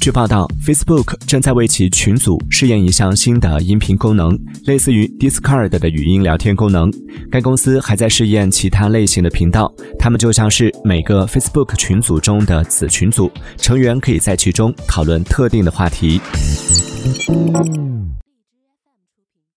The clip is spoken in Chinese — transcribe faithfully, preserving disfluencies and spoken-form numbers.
据报道 ，Facebook 正在为其群组试验一项新的音频功能，类似于 Discord 的语音聊天功能。该公司还在试验其他类型的频道，它们就像是每个 Facebook 群组中的子群组，成员可以在其中讨论特定的话题。